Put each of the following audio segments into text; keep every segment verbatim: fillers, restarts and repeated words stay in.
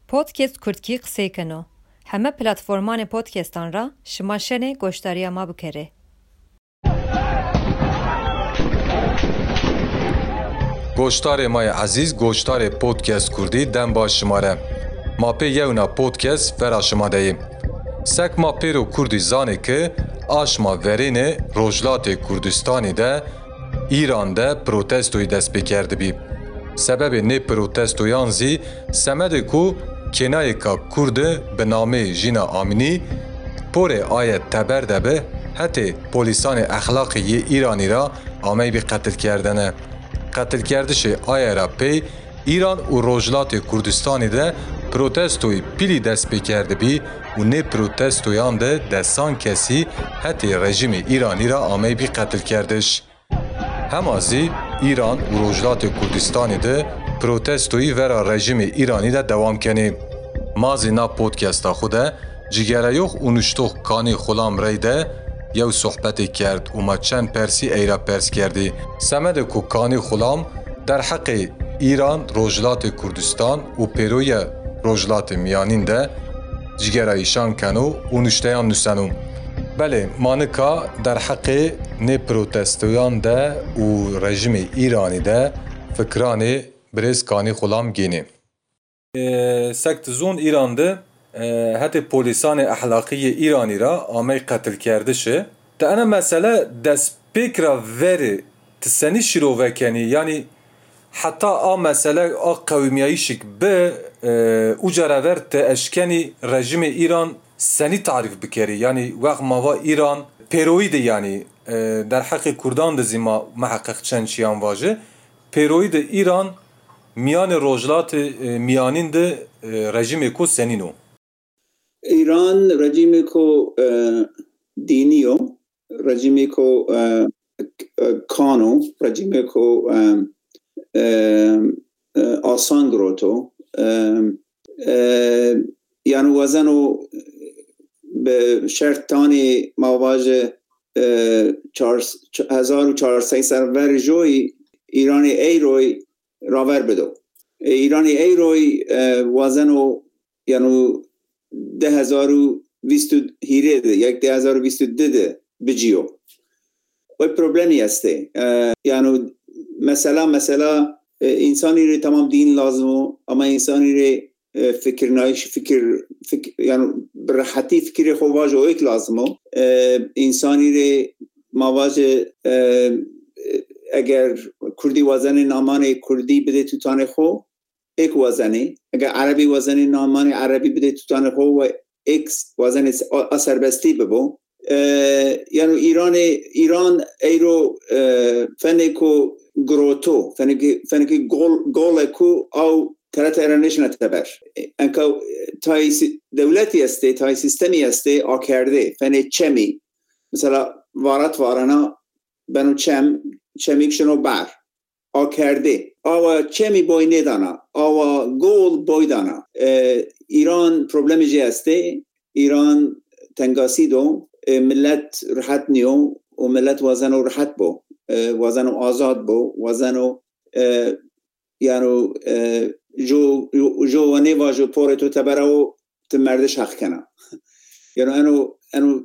پودکست کردکی قسەی کنو همه پلتفرمان پودکستان را شما شنه گوشتاری ما بکره. گوشتار مای عزیز گوشتار پودکست کردی دم با شماره ما پی یونا پودکست فرا شما دهیم سک ما پی رو کردی زانه که آشما ورین روجلات کردستانی ده ایران ده پروتستوی دست بکرده بی سبب نه پروتستویان زی سمده کو کنای که کرد به نام جینا آمینی پر آیت تبر دبه حتی پولیسان اخلاقی ایرانی را آمی بی قتل کردنه قتل کردش آیه را پی ایران و روجلات کردستانی ده پروتستوی پیلی دست بکرده بی و نه پروتستویان ده دستان کسی حتی رژیم ایرانی را آمی بی قتل کردش همازی ایران و روجلات کردستانی ده پروتستوی ورا رژیم ایرانی ده دوام کنی مازی نا پودکستا خوده جگره یوخ اونشتوخ کانی خلام ری ده یو صحبتی کرد و ما چند پرسی ایرا پرس کردی سمد کو کانی خلام در حق ایران روجلات کردستان و پیروی روجلات میانین ده جگره ایشان کنو اونشتیان نسنو بله مانکا در حق نه پروتستویان ده و رژیم ایرانی ده فکران برز کانی خلام گینی سکت زون ایران ده حتی پولیسان اخلاقی ایرانی را آمی قتل کرده شه تا انا مسئله دست پیکرا وری تسنی شروع وکنی یعنی حتی آ مسئله آ قومیایی شک به او جراور تا اشکنی رژیم ایران سنی تعریف بکری یعنی وقت ماوا ایران پیروید یعنی در حق کردان ده زیما محقق چند چیان واجه پیروید ایران میان روجلات میانین ده رژیم کو سنینو ایران رژیم کو دینیو رژیم کو کانو رژیم کو آسان گروتو یعنی وزنو به شرطانی مواجه هزار و چهارصد سرور جوی ایرانی ایروی راور بدو ایرانی ایروی وزنو یعنی ده هزار و بیست هیره ده یک ده هزار و بیست ده ده بجیو و پروبلمی هسته یعنی مثلا مثلا انسانی ری تمام دین لازمو اما انسانی ری فکر نایش فکر, فکر یعنی برحتی فکر خواج و ایک لازمو انسانی ری مواجه اگر کردی وزن نامان کردی بده تو تانه خو ایک وزنی اگر عربی وزن نامان عربی بده تو تانه خو و ایکس وزن اثر بستی ببو یعنی ایران ایران ایرو فنکو گروتو فنکی فنکی گول گول کو او ترت ایرانش نتبر انکو تای دولتی است تای سیستمی است آکرده فن چمی مثلا وارد وارنا بنو چم چمیکشنو بر آکرده او چمی بوی ندانا او گول بوی دانا ایران پروبلمی جی است ایران تنگاسی دو ملت راحت نیو و ملت وزنو راحت بو وزنو آزاد بو وزنو یعنی جو جو ونی واجو پور تو تبرو تمردش حق کنه یعنی انو انو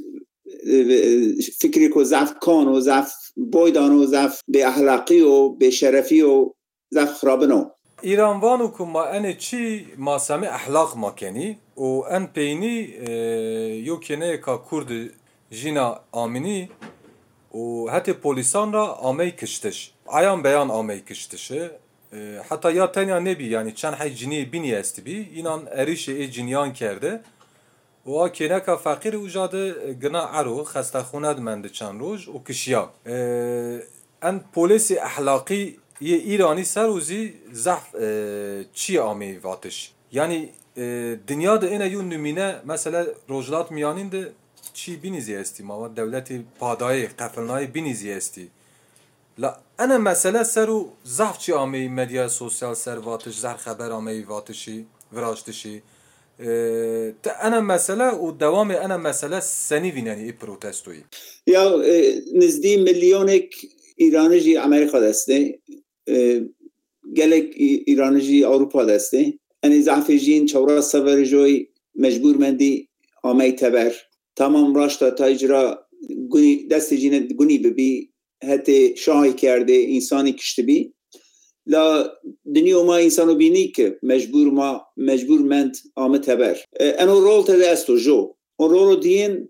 فکری کو ضعف کان و ضعف بویدان و ضعف به اخلاقی و به شرفی و ضعف خرابنو ایران وانو که ما انه چی ما سمه اخلاق ما کنی و ان پینی یو کنه که کرد جینا آمینی و حتی پولیسان را آمی کشتش عیان بیان آمی کشتشه حتی یا تنیا نبی یعنی چند حی جنی بینی است بی اینان اریش ای جنیان کرده و آکنه که فقیر اوجاده گنا عرو خسته خوند منده چند روز و کشیا ان پولیس اخلاقی یه ایرانی سروزی زحف چی آمی واتش یعنی دنیا ده اینه یون نمینه مثلا روجلات میانین ده چی بینیزی استی ما دولتی پادای قفلنای بینیزی استی لا انا مسئله سرو زحف چی آمی مدیا سوسیال سر واتش زهر خبر آمی واتشی وراشتشی تا انا مسئله و دوام انا مسئله سنی ویننی ای پروتستوی یا نزدی میلیونک ایرانی امریکا دسته گلک ایرانی اروپا دسته انی ضعف جین چورا سفر جوی مجبور مندی آمی تبر تمام راشتا تاجرا دست جین گونی ببی حتی شاهی کرده انسانی کشته بی لا دنیا ما انسانو بینی که مجبور ما مجبور مند آمه تبر انو رول تده استو جو اون رولو دین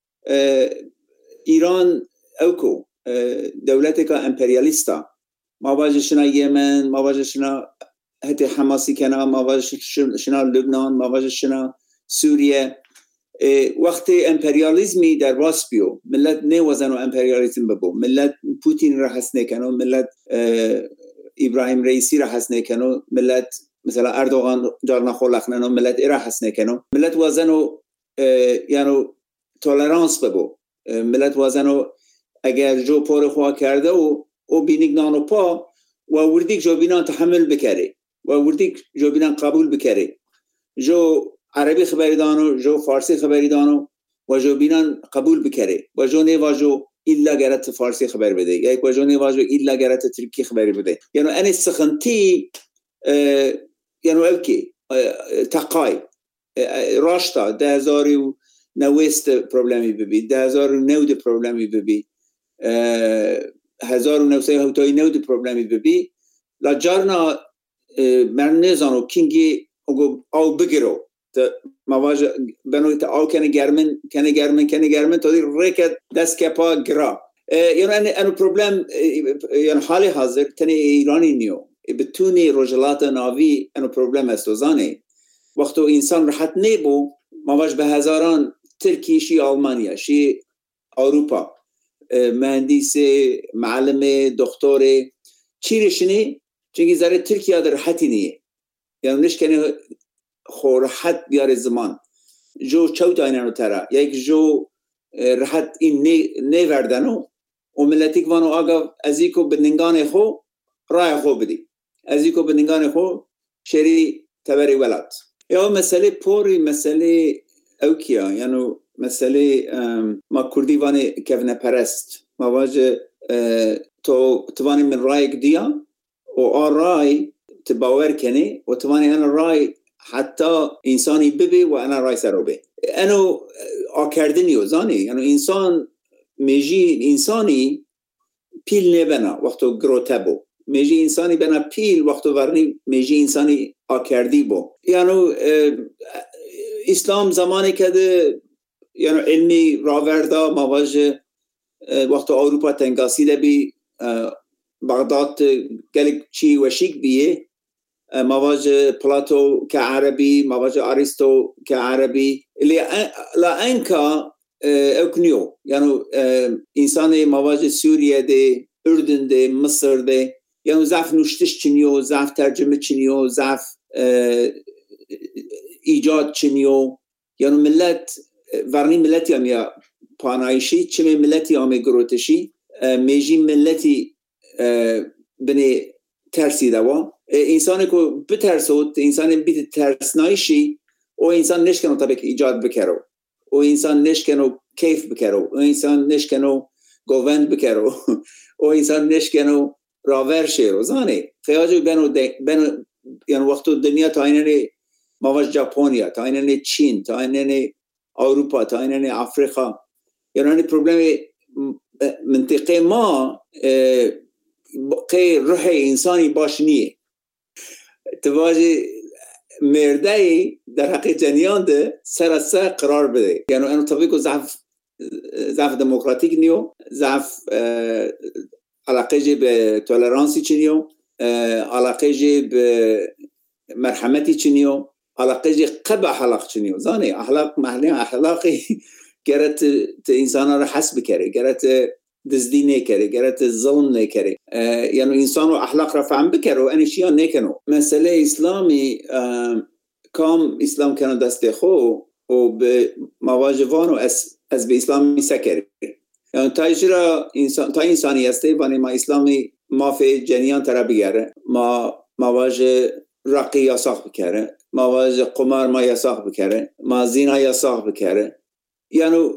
ایران اوکو دولت که امپریالیستا ما واجشنا یمن ما واجشنا حتی حماسی کنا ما واجشنا لبنان ما واجشنا سوریه وقت امپریالیزمی در باس بیو ملت نه وزنو امپریالیزم ببو ملت پوتین را حس نکنو ملت ابراهیم رئیسی را حس نکنو ملت مثلا اردوغان جارنا خلقننو ملت را حس نکنو ملت وزنو یعنی تولرانس ببو ملت وزنو اگر جو پور خواه کرده و او بینیگ نانو پا و وردیک جو بینان تحمل بکره و وردیک جو بینان قبول بکره جو عربی خبری دانو جو فارسی خبری دانو و جو بینان قبول بکره و جو نیوا جو ایلا گرت فارسی خبر بده یا و جو نیوا جو ایلا گرت ترکی خبری بده یعنی این سخنتی یعنی اوکی تقای راشتا ده هزاری و نوست پروبلمی ببی ده هزار و نود پروبلمی ببی هزار و نوسه هوتای نود پروبلمی ببی لا جارنا من نزانو کینگی او بگیرو مواجه بنویت او کنه گرمن کنه گرمن کنه گرمن تا دی ریکت دست کپا گرا یعنی انو پروبلم یعنی حالی حاضر تنی ایرانی نیو بتونی رجلات ناوی انو پروبلم استوزانه وقتو انسان راحت نیبو مواجه به هزاران ترکی شی آلمانیا شی اروپا مهندس معلم دکتر چیرشنی چونگی ذره ترکیه در راحتی نیه یعنی نشکنه خو راحت بیاره زمان جو چوت آینانو ترا یک جو راحت این نی وردنو و ملتیک وانو آگا ازیکو بننگان خو رای خو بدی ازیکو بننگان خو شری تبری ولد یا مسئله پوری مسئله اوکیا یعنی مسئله ما کردی وانه کفنه پرست ما واجه تو توانی من رای دیا و آن رای تباور کنی و توانی انا رای حتی انسانی ببی و انا رای سرو بی انو آکردنیو زانی یعنی انسان میجی انسانی پیل نبنا وقتو گروته بو میجی انسانی بنا پیل وقتو ورنی میجی انسانی آکردی بو یعنی اسلام زمانی که ده یعنی علمی راوردا مواجه وقت اروپا تنگاسیده بی بغداد گلک چی وشیک بیه مواجه پلاتو که عربی مواجه ارسطو که عربی لا انکا اکنیو یعنی انسان مواجه سوریه ده اردن ده مصر ده یعنی ضعف نوشتش چنیو ضعف ترجمه چنیو ضعف ایجاد چنیو یعنی ملت ورنی ملتی هم یا پانایشی چمه ملتی هم گروتشی میجی ملتی بنی ترسی دوا انسانی که بترسود انسانی بیت ترسنایشی او انسان نشکنو طبق ایجاد بکرو او انسان نشکنو کیف بکرو او انسان نشکنو گووند بکرو او انسان نشکنو راور شیرو زانه خیاجو بنو, بنو یعنی وقتو دنیا تا ایننی مواج ژاپنیا تا ایننی چین تا ایننی اروپا تا ایننی افریقا یعنی پروبلم منطقه ما قی روح انسانی باش نیه تواجه مرده در حق جنیان ده سر از سر قرار بده یعنی اینو طبیقو ضعف ضعف دموکراتیک نیو ضعف علاقه جه به تولرانسی چی نیو علاقه جه به مرحمتی چی نیو علاقه جه قبع حلاق چی نیو زانه احلاق محلی احلاقی گرت انسان را حس بکره گرت دزدی نکره گرت ظلم نکره یعنی انسان رو احلاق را فهم بکره و انشیا نکنو مسئله اسلامی کام اسلام کنه دست خو و به مواجوانو از, از به اسلامی سکره یعنی تا اجرا انسان تا انسانی هسته بانی ما اسلامی ما فی جنیان ترا بگره ما مواجه رقی یاساق بکره مواجه قمار ما یاساق بکره ما زینا یاساق بکره یعنی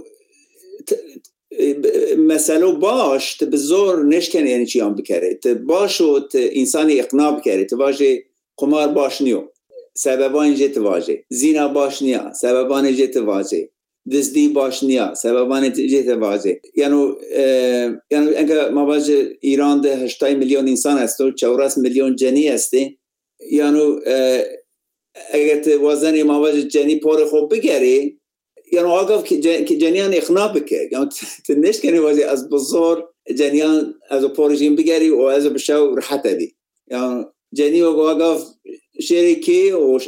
مسئله باش ت بزور نشکنه یعنی چی هم بکره ت باش و ت انسانی اقناع بکره ت باشه قمار باش نیو سببان جت واجه زینا باش نیا سببان جت واجه دزدی باش نیا سببان جت واجه یعنی یعنی انگار مواجه ایران ده هشتای میلیون انسان است و چهارصد میلیون جنی هسته یعنی اگر تو وزن مواجه جنی پر خوب بگیری یعنی آگاه که جنیان اخنا بکه یعنی تنش کنی واجه از بزرگ جنیان از پارجین بگیری و از بشو راحت دی یعنی جنی و آگاه شریکی و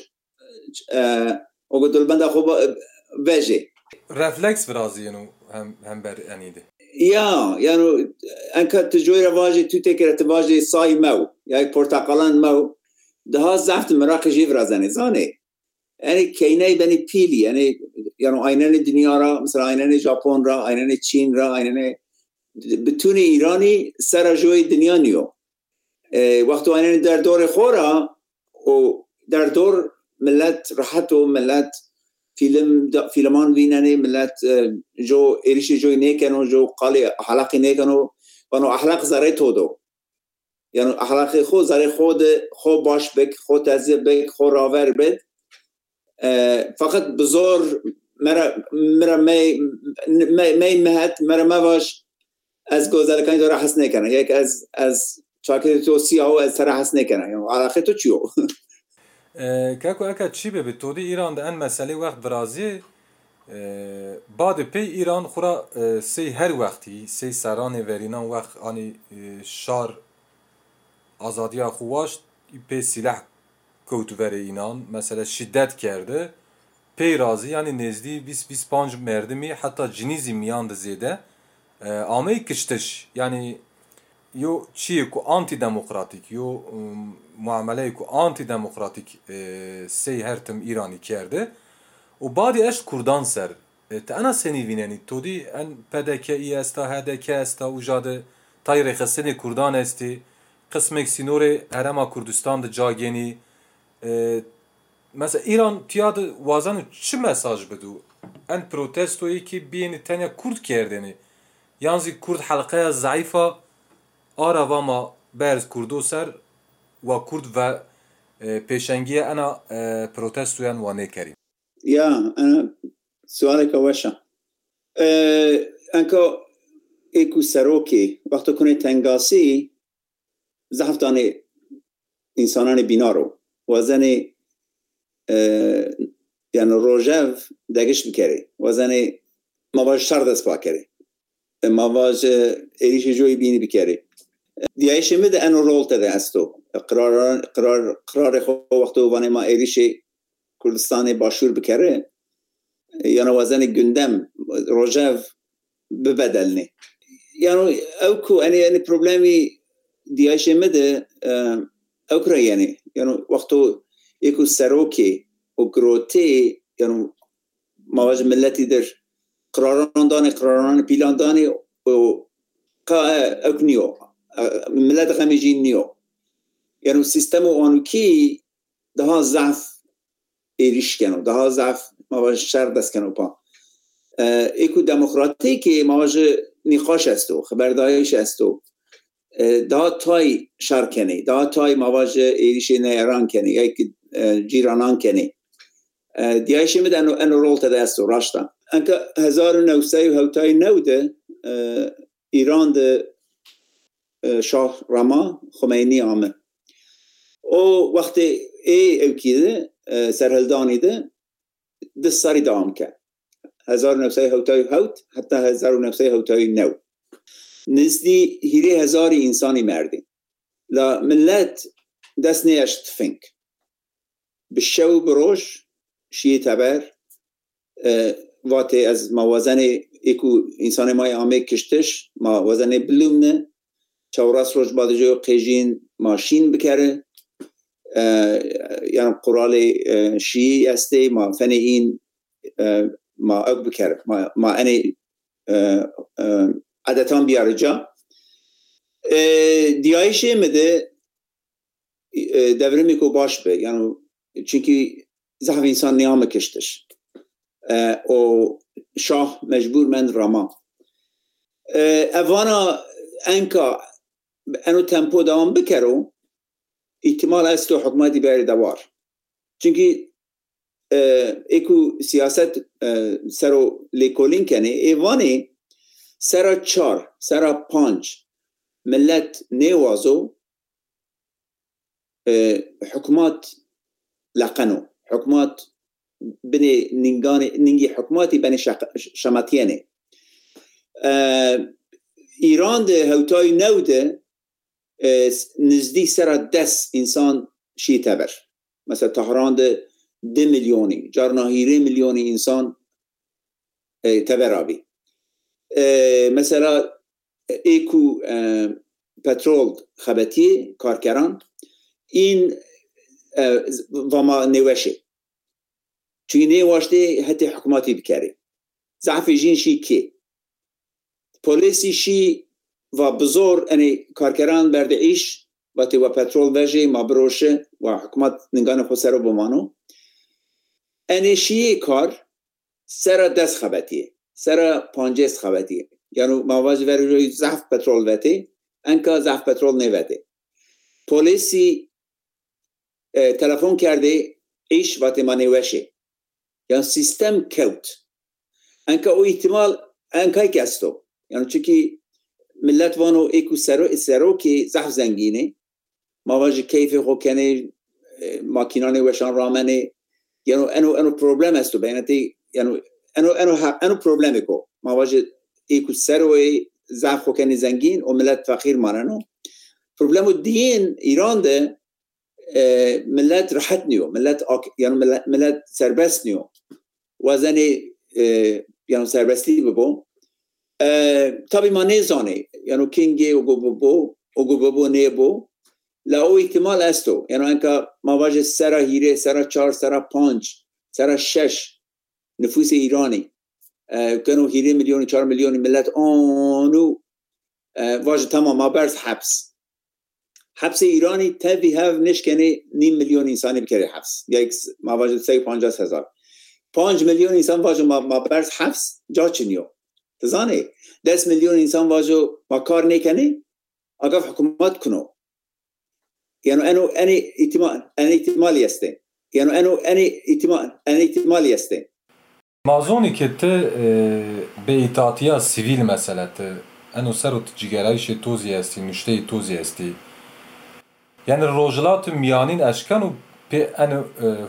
و دلبند خوب وجه رفلکس برازی یعنی هم هم بر انیده یا یعنی انک تجوی رواجی تو تکر تواجی سای مو یا یک پرتقالان مو ده زفت مراکشی فرازنه زانه یعنی کینه بنی پیلی یعنی یعنی آینه دنیا را مثلا آینه ژاپن را آینه چین را آینه بتون ایرانی سر جوی دنیا نیو وقتی آینه در دور خورا و در دور ملت راحت و ملت فیلم فیلمان ویننه ملت جو ایریش جوی نیکنو جو قالی حلقی نیکنو بانو احلق زره تودو یعنی احلق خود زره خود خود باش بک خود تزیب بک خود راور بد فقط بزار مرا مرا می می مهت مرا مواش از گذرکانی داره حس نکنه یک از از چاکر تو سیاهو از سر حس نکنه یعنی علاقه تو چیو کاکو اکا چی به تودی ایران ده ان مسئله وقت برازی بعد پی ایران خورا سی هر وقتی سی سران ورینان وقت آنی شار آزادی خواش پی سلاح کوتور اینان مثلا شدت کرده پی رازی یعنی نزدی بیست بیست و پنج مردمی حتی جنیزی میاند زیده آمه کشتش یعنی یو چیه که آنتی دموکراتیک یو معامله که آنتی دموکراتیک سی هرتم ایرانی کرده و بعدی اش کردان سر تا انا سنی ویننی تو دی ان پدکه ای استا هدکه استا و جاده تایره خسنی کردان استی قسمک سینور هرما کردستان ده جاگینی مثلا ایران تیاد وازن چه مساج بدو ان پروتستویی که بین تنیا کرد کردنی یعنی کرد حلقه ضعیفه آرا و ما برز کردو سر و کرد و پیشنگی انا پروتستویان وانه کریم یا انا سوالك وشا انکو ایکو سروکی وقت کنه تنگاسی زحفتان انسانان بینارو وزن یعنی روژو دگش بکره وزن مواج شر دست پا کره مواج ایریش جوی بینی بکره دیایش میده انو رول تده استو قرار قرار قرار خو وقتو وانه ما ایریش کردستان باشور بکره یعنی وزن گندم روژو ببدلنه یعنی اوکو اني یعنی پروبلمی دیایش میده اوکرا یعنی یعنی وقتو یکو سروکی و گروتی یعنی مواجه ملتی در قراران دانه قراران پیلان دانه و اوک نیو ملت خمیجین نیو یعنی سیستم آنوکی ده ها ضعف ایریش کنو ده ها ضعف مواجه شر دست کنو پا ایکو دموکراتی که مواجه نیخاش استو خبردایش استو ده ها تای شر کنی ده ها تای مواجه ایریش نیران کنی یا که جیرانان کنی دیایش میده انو, انو رول تده استو راشتا انکه هزار و نوسته و هوتای نوده ایران ده شاه رما خمینی آمه و وقتی ای اوکیده سرهلدانی ده ده ساری دام که هزار و نوسته هوتای هوت حتی هزار و نوسته هوتای نو نزدی هیری هزاری انسانی مردی لا ملت دست نیشت فنک بشو بروش شیه تبر واتی از موازن ایکو انسان مای آمه کشتش موازن بلومنه چوراس روش بعد جو قیجین ماشین بکره یعنی قرال شیعی استه ما فنه این ما اگ بکره ما, ما انه عدتان بیاره جا دیایشه مده دورمی که باش به یعنی چونکه زحف انسان نیامه کشتش و شاه مجبور من راما اوانا انکا انو تمپو دوام بکرو احتمال است تو حکومتی بری دوار چونکی اکو سیاست سرو لیکولین کنه ایوانی سرا چار سرا پانچ ملت نیوازو حکومات لقنو حکومات بني نينغاني نينغي حكوماتي بني شماتياني ایران ده هوتای نو ده نزدیک سر دس انسان شی تبر مثلا تهران ده ده میلیونی جارنا هیره میلیونی انسان تبر آبی مثلا ایکو پترول خبتی کارکران این وما نوشه چون نواشته حتی حکوماتی بکره ضعف جین شی که پولیسی شی و بزور اني کارکران برد ایش و تی و پترول وجه ما بروشه و حکومت نگان خود سر بمانو اني شی کار سر دست خبتیه سر پانجست خبتیه یعنی مواجه وری روی ضعف پترول وته انکا ضعف پترول نوته پولیسی تلفن کرده ایش و تی ما نوشه یعنی سیستم کوت انکا او احتمال انکای کستو یعنی چکی ملت وانو ایکو سرو سرو که زحف زنگینه مواجه کیف خو کنه ماکینان وشان رامنه یعنی انو انو پروبلم استو بینتی یعنی انو انو انو پروبلم کو مواجه ایکو سرو زحف خو کنه زنگین و ملت فقیر ماننو پروبلمو دین ایران ده ملت راحت نیو ملت آک... یعنی ملت, ملت سربست نیو وزنی یعنی سربستی ببو طبعا ما نزانه یعنی کینگی و گوبو و گوبو نیبو لا او احتمال استو یعنی انکا ما واجه سرا هیره سرا چار سرا پانچ سرا شش نفوس ایرانی کنو هیره میلیونی چار میلیونی ملت آنو واجه تمام ما برز حبس حبس ایرانی تبی هف نشکنه نیم میلیون انسانی بکره حبس یک ما واجه سی پانجاز هزار پانچ میلیون انسان واجه ما, ما برز حبس جا چنیو تزانه دس میلیون انسان واجه ما کار نکنه اگه حکومت کنو یعنی انو اني احتمال اني احتمالی است یعنی انو اني احتمال اني احتمالی است مازونی که ته به اطاعتیا سیویل مسئله ته انو سرو تجگرایش توزی هستی نشته توزی هستی یعنی روجلات میانین اشکانو به انو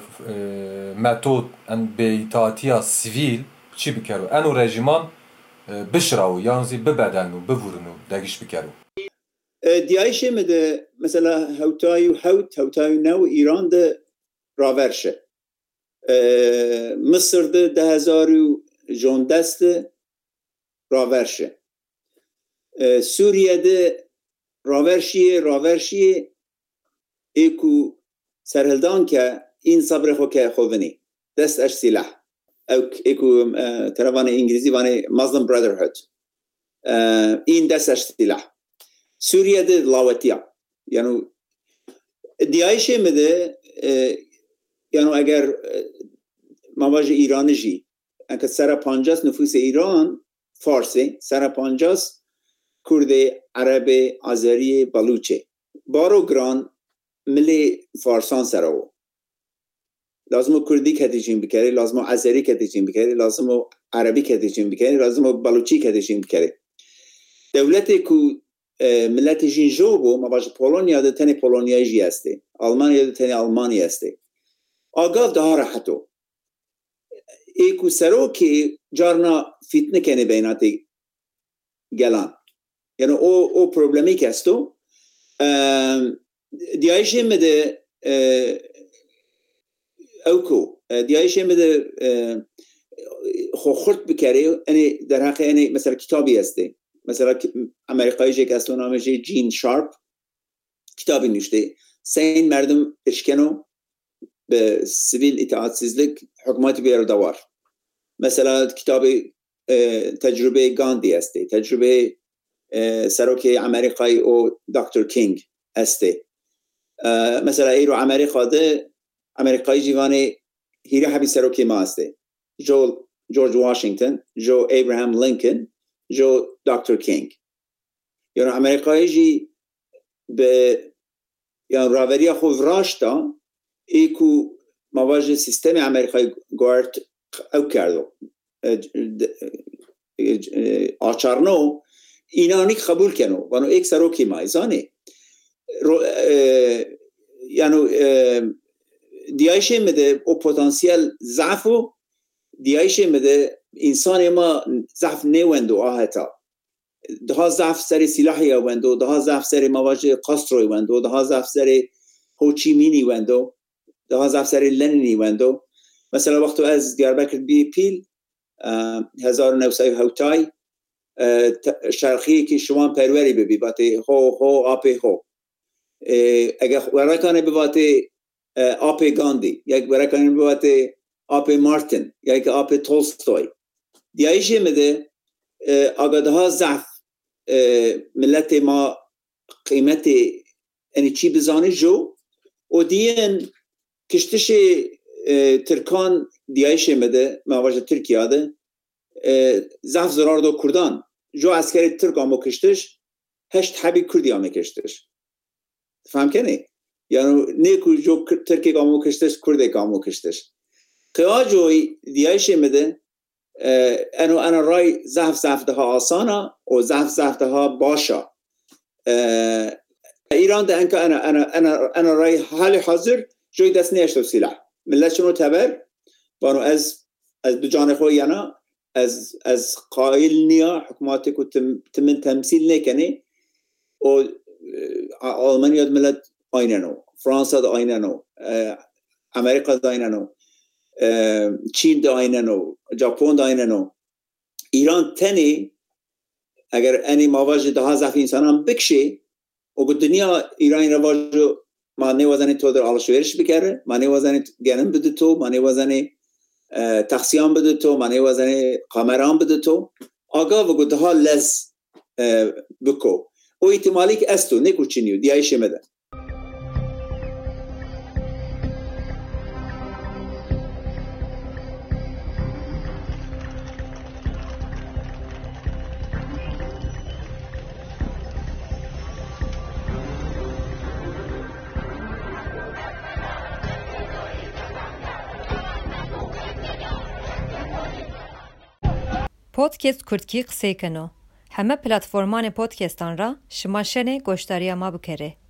متود ان به اطاعتیا سیویل چی بکرو انو رژیمان بشراو یعنی ببدلنو بورنو دگیش بکرو دیایشه مده مثلا هوتایو هوت هوتایو نو ایران ده راورشه مصر ده ده هزارو جون دست راورشه سوریه ده راورشیه راورشیه ایکو سرهلدان که این صبر خو که خوونی دست اش سلاح او ایکو تروان انگلیزی وانه مسلم برادرهود این دست اش سلاح سوریه ده لاوتیا یعنی دیایشه مده یعنی اگر مواجه ایران جی انکه سر پانجاس نفوس ایران فارسی سر پانجاس کرده عرب آذری بلوچه بارو گران ملی فارسان سراو لازم کردی کتیجین بکره لازم آذری کتیجین بکره لازم عربی کتیجین بکره لازم بلوچی کتیجین بکره دولت کو ملت جین جوبو مواجه پولونیا ده تنی پولونیای جی هسته آلمانیا ده تنی آلمانی هسته آگاه ده ها راحتو ایکو سرو که جارنا فتنه کنه بیناتی گلان یعنی او او پروبلمی که هستو دیایشه مده اوکو دیایشه مده خو خورد بکره یعنی در حقیقت یعنی مثلا کتابی هسته مثلا امریکایی جه که اصلا نامش جین شارپ کتابی نوشته سین مردم اشکنو به سیویل اطاعتسizlik حکومتی بیار دوار مثلا کتاب تجربه گاندی هسته تجربه سروک امریکایی او دکتر کینگ هسته مثلا ایرو امریکا ده امریکایی جیوانه هیره حبی سروکی ما هسته جو جورج واشنگتن جو ابراهام لینکن جو دکتر کینگ یعنی امریکایی جی به یعنی راوری خود راشتا ایکو مواجه سیستم امریکای گوارد او کردو آچارنو اینانی قبول کنو وانو ایک سروکی مایزانه یعنی دیایشه مده او پتانسیل ضعفو دیایشه مده انسان ما ضعف نیوندو آهتا ده ضعف سر سلاحی وندو ده ضعف سر مواجه قاستروی وندو ده ضعف سر هوچیمینی وندو ده ضعف سر لنینی وندو مثلا وقتی از دیاربکر بی پیل هزار و نوصد و هفتای شرقی که شما پروری ببی باتی هو هو آپی هو اگر ورکانه بواتی آپی گاندی یک ورکانه بواتی آپی مارتین یک آپی تولستوی دیایشه مده اگر ده ضعف ملت ما قیمت یعنی چی بزانه جو و دین کشتش ترکان دیایشه مده مواجه ترکیه ده ضعف زرار دو کردان جو عسکری ترک آمو کشتش هشت حبی کردی آمو کشتش فهم کنی؟ یعنی نیکو جو ترکی آمو کشتش کردی آمو کشتش قیاه جوی دیایشه مده انو انا رای ضعف ضعف ده ها آسانا و ضعف ضعف ده ها باشا ایران ده انکا انا انا انا انا رای حال حاضر جوی دست نیشتو سلاح ملت شنو تبر وانو از از بجان خوی یانا از از قائل نیا حکوماتی کو تم تمن تمثیل نکنی و آلمانیا ملت آینانو فرانسا ده آینانو امریکا ده آینانو چین ده آینانو ژاپن ده آینانو ایران تنی اگر انی مواجه ده ها ضعف انسانان بکشی و دنیا ایران رواجو معنی وزنی تو در آلشویرش بکره معنی وزنی گنم بده تو معنی وزنی تقسیم بده تو معنی وزنی کامران بده تو آگاه و گده ها لز بکو او احتمالی که استو نیکو چینیو دیایشه مده پودکست کردکی قسەی کەنۆ هەمە پلەتفۆرمانێ پۆدکێستان را شما شەنێ گۆشتاریە ما بکەرێ.